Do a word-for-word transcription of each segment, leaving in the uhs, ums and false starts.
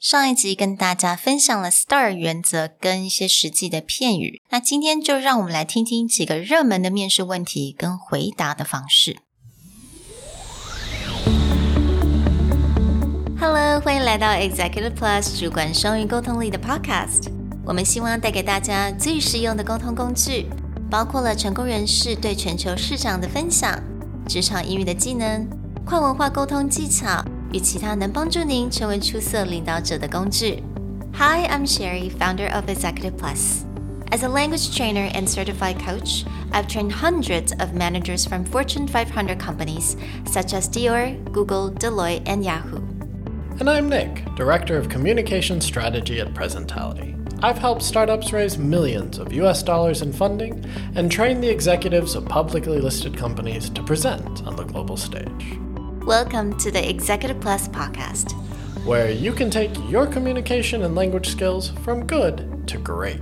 上一集跟大家分享了 S T A R 原則跟一些實際的片語，那今天就讓我們來聽聽幾個熱門的面試問題跟回答的方式。Hello， 歡迎來到 Executive Plus 主管雙語溝通力的 Podcast。我們希望帶給大家最實用的溝通工具，包括了成功人士對全球市場的分享、職場英語的技能、跨文化溝通技巧與其他能幫助您成為出色領導者的工具。Hi, I'm Sherry, founder of Executive Plus. As a language trainer and certified coach, I've trained hundreds of managers from Fortune five hundred companies such as Dior, Google, Deloitte, and Yahoo. And I'm Nick, Director of Communication Strategy at Presentality. I've helped startups raise millions of U S dollars in funding and train the executives of publicly listed companies to present on the global stage. Welcome to the Executive Plus podcast, where you can take your communication and language skills from good to great.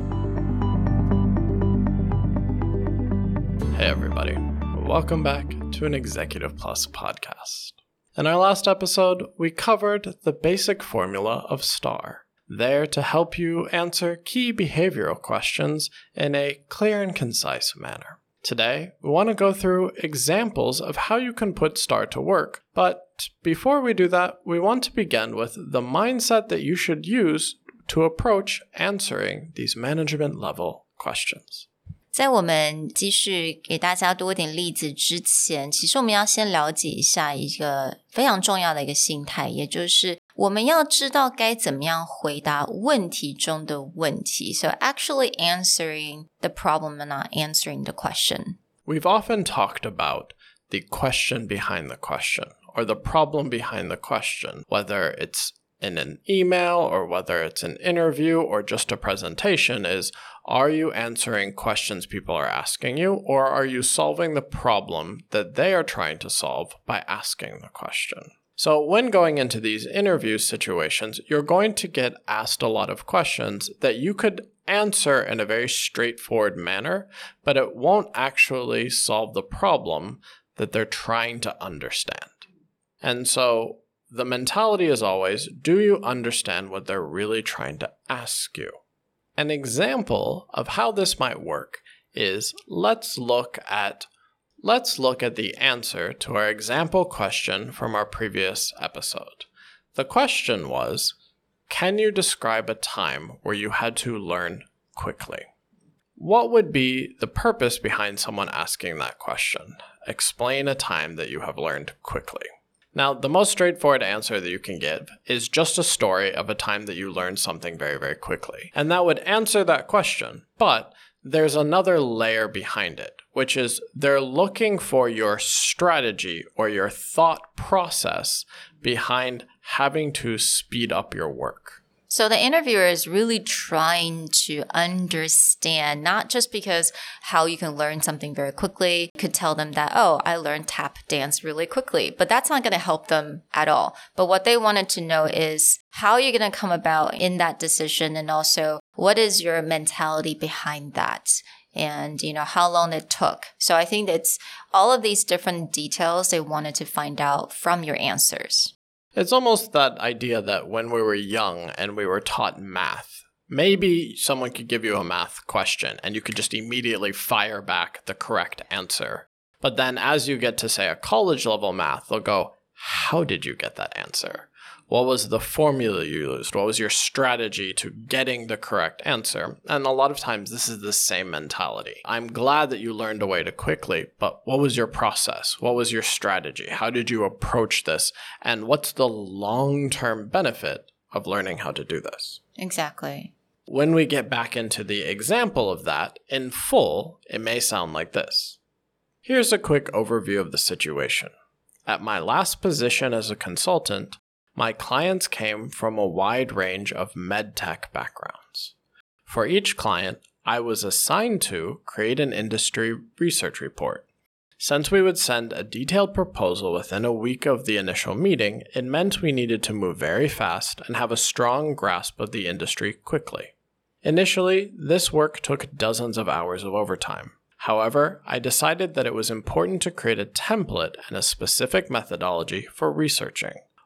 Hey everybody, welcome back to an Executive Plus podcast. In our last episode, we covered the basic formula of STAR, there to help you answer key behavioral questions in a clear and concise manner. Today, we want to go through examples of how you can put STAR to work, but before we do that, we want to begin with the mindset that you should use to approach answering these management-level questions. 在我們繼續給大家多一點例子之前，其實我們要先了解一下一個非常重要的一個心態，也就是我們要知道該怎麼樣回答問題中的問題。So actually answering the problem and not answering the question. We've often talked about the question behind the question, or the problem behind the question, whether it's in an email or whether it's an interview or just a presentation, is are you answering questions people are asking you, or are you solving the problem that they are trying to solve by asking the question? So when going into these interview situations, you're going to get asked a lot of questions that you could answer in a very straightforward manner, but it won't actually solve the problem that they're trying to understand. And so the mentality is always, do you understand what they're really trying to ask you? An example of how this might work is let's look at let's look at the answer to our example question from our previous episode. The question was, can you describe a time where you had to learn quickly? What would be the purpose behind someone asking that question? Explain a time that you have learned quickly. Now, the most straightforward answer that you can give is just a story of a time that you learned something very, very quickly. And that would answer that question. But there's another layer behind it, which is they're looking for your strategy or your thought process behind having to speed up your work. So the interviewer is really trying to understand, not just because how you can learn something very quickly. You could tell them that, oh, I learned tap dance really quickly, but that's not going to help them at all. But what they wanted to know is how you're going to come about in that decision, and also what is your mentality behind that, and you know how long it took. So I think it's all of these different details they wanted to find out from your answers. It's almost that idea that when we were young and we were taught math, maybe someone could give you a math question and you could just immediately fire back the correct answer. But then as you get to, say, a college level math, they'll go, how did you get that answer? What was the formula you used? What was your strategy to getting the correct answer? And a lot of times this is the same mentality. I'm glad that you learned a way to quickly, but what was your process? What was your strategy? How did you approach this? And what's the long-term benefit of learning how to do this? Exactly. When we get back into the example of that in full, it may sound like this. Here's a quick overview of the situation. At my last position as a consultant, my clients came from a wide range of medtech backgrounds. For each client, I was assigned to create an industry research report. Since we would send a detailed proposal within a week of the initial meeting, it meant we needed to move very fast and have a strong grasp of the industry quickly. Initially, this work took dozens of hours of overtime. However, I decided that it was important to create a template and a specific methodology for researching.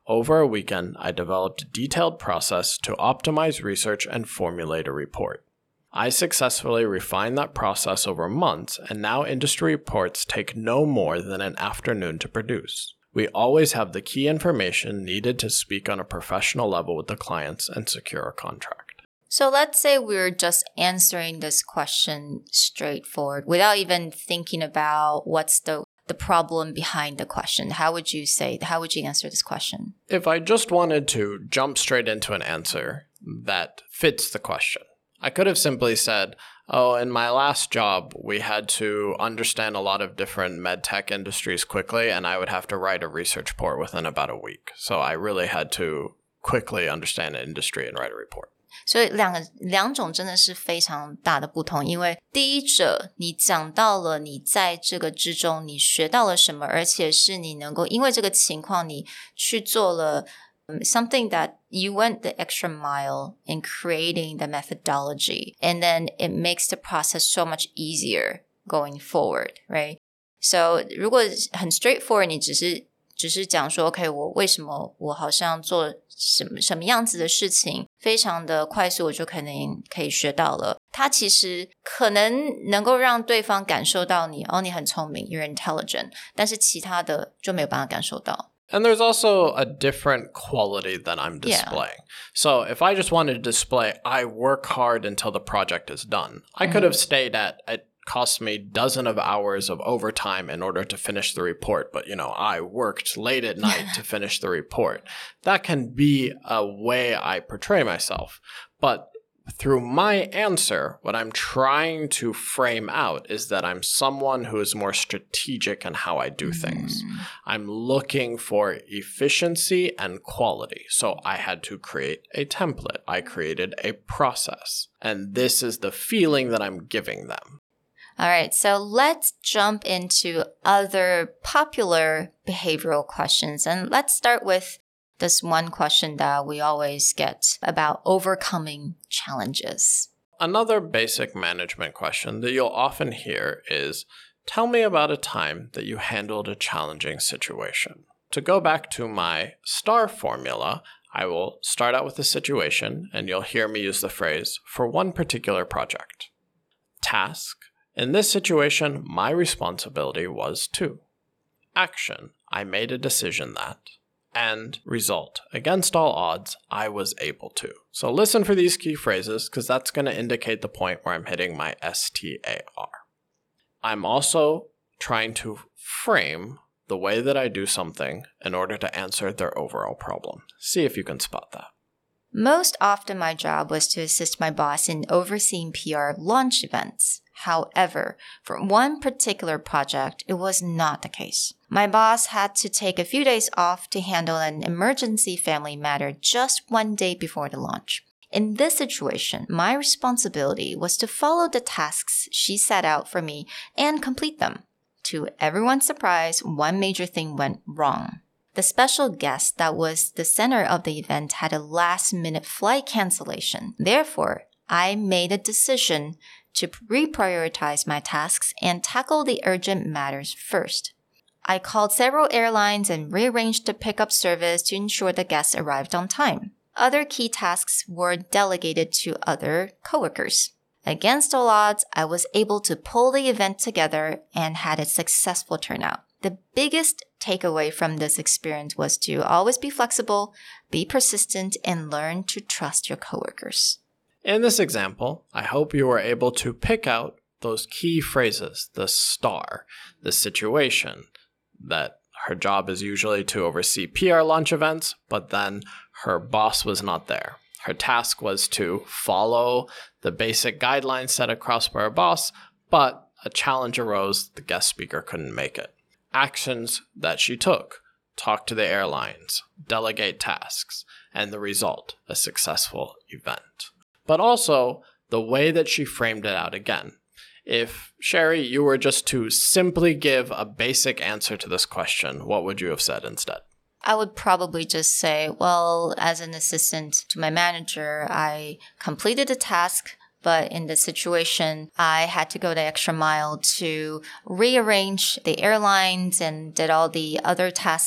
Over a weekend, I developed a detailed process to optimize research and formulate a report. I successfully refined that process over months, and now industry reports take no more than an afternoon to produce. We always have the key information needed to speak on a professional level with the clients and secure a contract. So let's say we're just answering this question straightforward without even thinking about what's the the problem behind the question. How would you say, how would you answer this question? If I just wanted to jump straight into an answer that fits the question, I could have simply said, oh, in my last job, we had to understand a lot of different med tech industries quickly, and I would have to write a research report within about a week. So I really had to quickly understand an industry and write a report. 所以两個兩種真的是非常大的不同，因為第一者你講到了你在這個之中你學到了什麼，而且是你能夠因為這個情況你去做了、um, something that you went the extra mile in creating the methodology, and then it makes the process so much easier going forward, right? So 如果很 straightforward 你只是只是講說 OK 我為什麼我好像做什麼什麼樣子的事情非常的快速我就可能可以學到了，它其實可能能夠讓對方感受到你哦你很聰明 you're intelligent， 但是其他的就沒有辦法感受到。 And there's also a different quality that I'm displaying. Yeah. So if I just wanted to display I work hard until the project is done, I mm-hmm. could have stayed at it cost me dozens of hours of overtime in order to finish the report, but you know, I worked late at night to finish the report. That can be a way I portray myself. But through my answer, what I'm trying to frame out is that I'm someone who is more strategic in how I do things. Mm. I'm looking for efficiency and quality. So I had to create a template. I created a process. And this is the feeling that I'm giving them. All right, so let's jump into other popular behavioral questions. And let's start with this one question that we always get about overcoming challenges. Another basic management question that you'll often hear is, tell me about a time that you handled a challenging situation. To go back to my STAR formula, I will start out with a situation, and you'll hear me use the phrase, for one particular project. Task. In this situation, my responsibility was to. Action. I made a decision that. And result. Against all odds, I was able to. So listen for these key phrases because that's going to indicate the point where I'm hitting my S T A R. I'm also trying to frame the way that I do something in order to answer their overall problem. See if you can spot that. Most often my job was to assist my boss in overseeing P R launch events. However, for one particular project, it was not the case. My boss had to take a few days off to handle an emergency family matter just one day before the launch. In this situation, my responsibility was to follow the tasks she set out for me and complete them. To everyone's surprise, one major thing went wrong. The special guest that was the center of the event had a last-minute flight cancellation. Therefore, I made a decision to reprioritize my tasks and tackle the urgent matters first. I called several airlines and rearranged the pickup service to ensure the guests arrived on time. Other key tasks were delegated to other coworkers. Against all odds, I was able to pull the event together and had a successful turnout. The biggest takeaway from this experience was to always be flexible, be persistent, and learn to trust your coworkers. In this example, I hope you were able to pick out those key phrases, the STAR, the situation, that her job is usually to oversee P R launch events, but then her boss was not there. Her task was to follow the basic guidelines set across by her boss, but a challenge arose, the guest speaker couldn't make it. Actions that she took, talk to the airlines, delegate tasks, and the result, a successful event. But also, the way that she framed it out again. If, Sherry, you were just to simply give a basic answer to this question, what would you have said instead? I would probably just say, well, as an assistant to my manager, I completed the task, but in this situation, I had to go the extra mile to rearrange the airlines and did all the other tasks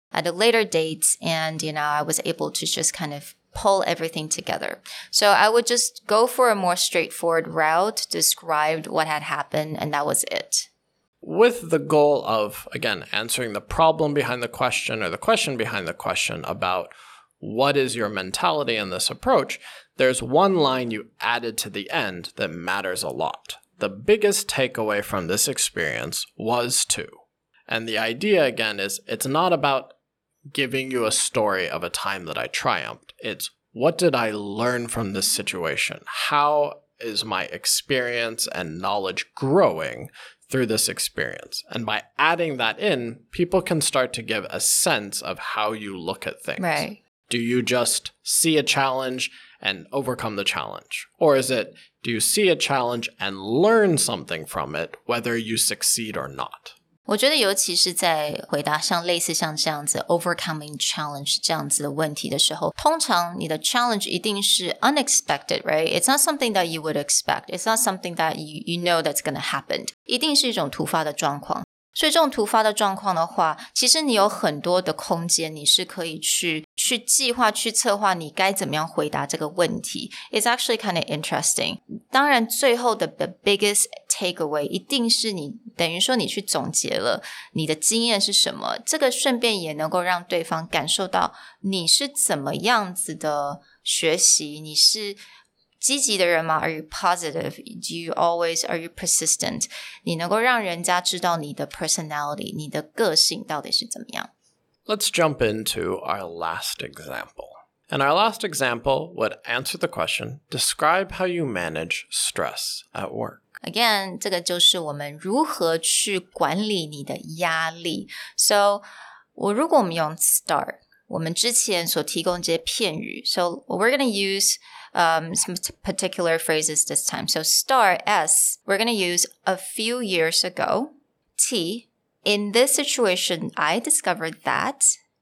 at a later date. And, you know, I was able to just kind of pull everything together. So I would just go for a more straightforward route, described what had happened, and that was it. With the goal of, again, answering the problem behind the question or the question behind the question about what is your mentality in this approach, there's one line you added to the end that matters a lot. The biggest takeaway from this experience was to. And the idea, again, is it's not about giving you a story of a time that I triumphed. It's what did I learn from this situation? How is my experience and knowledge growing through this experience? And by adding that in, people can start to give a sense of how you look at things. Right. Do you just see a challenge and overcome the challenge? Or is it, do you see a challenge and learn something from it, whether you succeed or not? 我覺得尤其是在回答像類似像這樣子 overcoming challenge 這樣子的問題的時候，通常你的 challenge 一定是 unexpected, right? It's not something that you would expect. It's not something that you, you know that's going to happen. 一定是一種突發的狀況。所以這種突發的狀況的話，其實你有很多的空間，你是可以去去計劃、去策劃你該怎麼樣回答這個問題。It's actually kind of interesting. 當然，最後的 the biggest takeaway 一定是你等於說你去總結了你的經驗是什麼，這個順便也能夠讓對方感受到你是怎麼樣子的學習，你是積極的人嗎？ Are you positive? Do you always, are you persistent? 你能夠讓人家知道你的 personality, 你的個性到底是怎麼樣。 Let's jump into our last example. And our last example would answer the question, describe how you manage stress at work. Again, 這個就是我們如何去管理你的壓力。So, 我如果我們用 start, 我們之前所提供這些片語 So, we're going to use um, some particular phrases this time. So, start, S, we're going to use a few years ago. T, in this situation, I discovered that.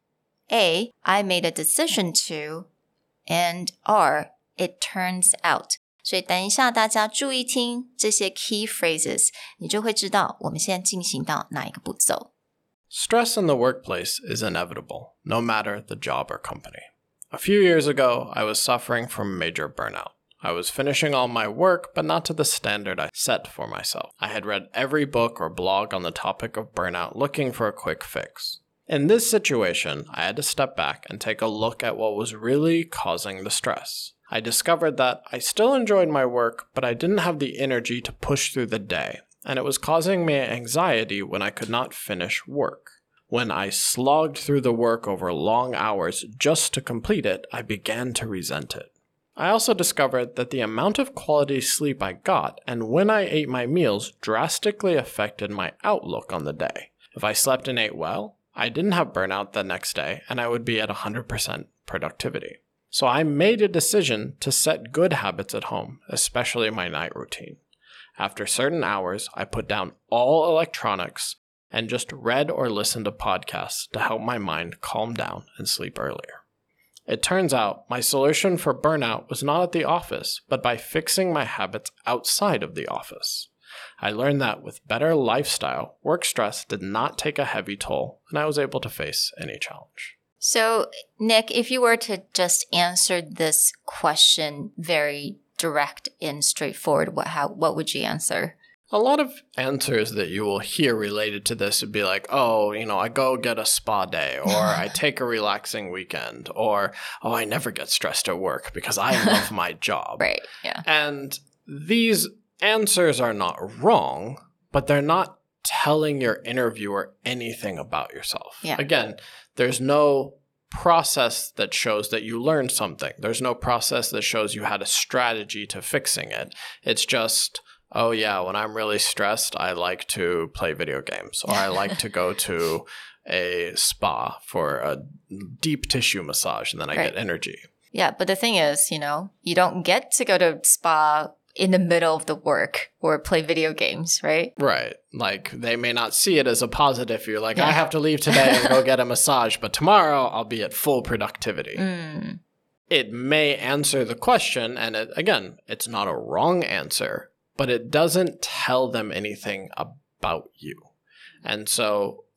A, I made a decision to. And R, it turns out. 所以等一下大家注意聽這些 key phrases, 你就會知道我們現在進行到哪一個步驟。 Stress in the workplace is inevitable, no matter the job or company. A few years ago, I was suffering from major burnout. I was finishing all my work, but not to the standard I set for myself. I had read every book or blog on the topic of burnout looking for a quick fix. In this situation, I had to step back and take a look at what was really causing the stress. I discovered that I still enjoyed my work, but I didn't have the energy to push through the day, and it was causing me anxiety when I could not finish work. When I slogged through the work over long hours just to complete it, I began to resent it. I also discovered that the amount of quality sleep I got and when I ate my meals drastically affected my outlook on the day. If I slept and ate well, I didn't have burnout the next day, and I would be at one hundred percent productivity. So I made a decision to set good habits at home, especially my night routine. After certain hours, I put down all electronics and just read or listened to podcasts to help my mind calm down and sleep earlier. It turns out my solution for burnout was not at the office, but by fixing my habits outside of the office. I learned that with better lifestyle, work stress did not take a heavy toll, and I was able to face any challenge. So, Nick, if you were to just answer this question very direct and straightforward, what how what would you answer? A lot of answers that you will hear related to this would be like, oh, you know, I go get a spa day, or I take a relaxing weekend, or, oh, I never get stressed at work because I love my job. Right, yeah. And these answers are not wrong, but they're not telling your interviewer anything about yourself. Yeah. Again, there's no process that shows that you learned something. There's no process that shows you had a strategy to fixing it. It's just, oh yeah, when I'm really stressed, I like to play video games, or I like to go to a spa for a deep tissue massage, and then I right. get energy. Yeah, but the thing is, you know, you don't get to go to spa in the middle of the work or play video games, right? Right. Like, they may not see it as a positive. You're like, yeah. I have to leave today and go get a massage, but tomorrow I'll be at full productivity. Mm. It may answer the question, and it, again, it's not a wrong answer, but it doesn't tell them anything about you. And so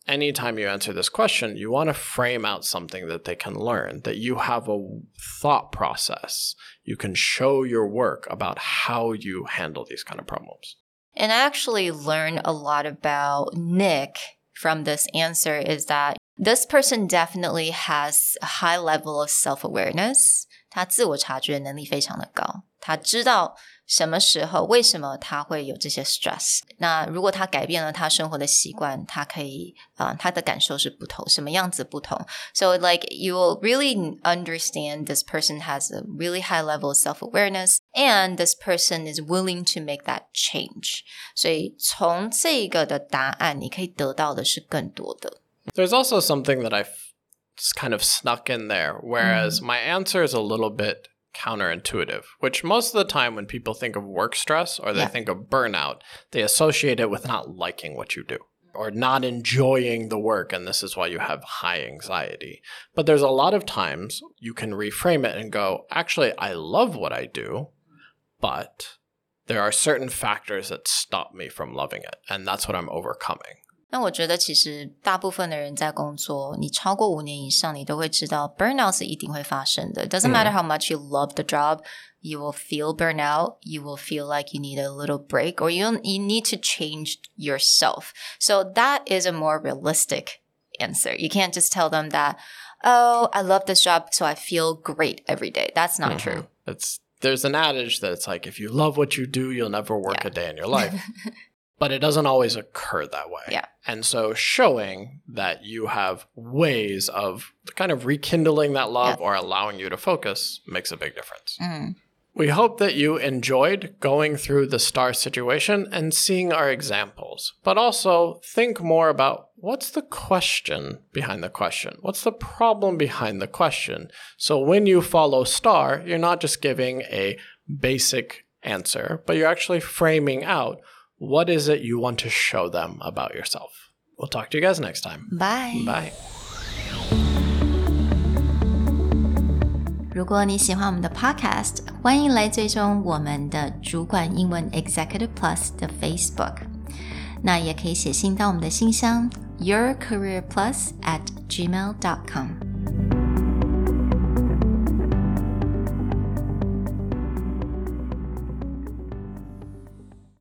anytime you answer this question, you want to frame out something that they can learn, that you have a thought process. You can show your work about how you handle these kind of problems. And I actually learned a lot about Nick from this answer is that this person definitely has a high level of self-awareness. 他自我察觉能力非常的高，他知道什麼時候為什麼他會有這些 stress。 那如果他改變了他生活的習慣，他可以、呃、他的感受是不同，什麼樣子不同。 So like you will really understand this person has a really high level of self-awareness and this person is willing to make that change. 所以從這個的答案你可以得到的是更多的。 There's also something that I've kind of snuck in there, whereas mm. my answer is a little bit counterintuitive, which most of the time when people think of work stress or they yeah. think of burnout, they associate it with not liking what you do or not enjoying the work, and this is why you have high anxiety. But there's a lot of times you can reframe it and go, actually, I love what I do, but there are certain factors that stop me from loving it, and that's what I'm overcoming. 那我觉得其實大部分的人在工作，你超過五年以上，你都會知道 burnout 是一定會發生的。It doesn't matter how much you love the job, you will feel burnout, you will feel like you need a little break, or you, you need to change yourself. So that is a more realistic answer. You can't just tell them that, oh, I love this job, so I feel great every day. That's not mm-hmm. true. It's, there's an adage that it's like, if you love what you do, you'll never work yeah. a day in your life. But it doesn't always occur that way. Yeah. And so showing that you have ways of kind of rekindling that love yeah. or allowing you to focus makes a big difference. Mm. We hope that you enjoyed going through the STAR situation and seeing our examples, but also think more about what's the question behind the question? What's the problem behind the question? So when you follow STAR, you're not just giving a basic answer, but you're actually framing out what is it you want to show them about yourself? We'll talk to you guys next time. Bye. Bye. 如果你喜歡我們的 podcast， 歡迎來追蹤我們的主管英文 Executive Plus 的 Facebook。那也可以寫信到我們的信箱 your career plus at gmail dot com。